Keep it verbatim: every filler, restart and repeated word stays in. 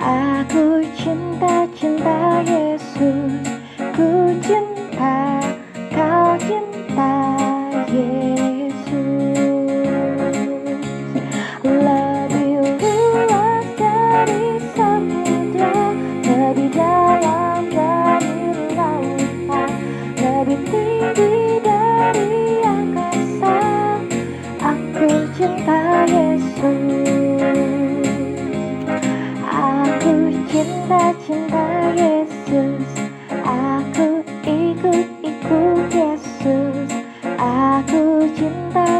Aku cinta, cinta Yesus. Ku cinta, kau cinta Yesus. Lebih luas dari samudra, lebih dalam dari lautan, lebih tinggi dari angkasa. Aku cinta Yesus. Aku cinta, cinta Yesus. Aku ikut, ikut Yesus. Aku cinta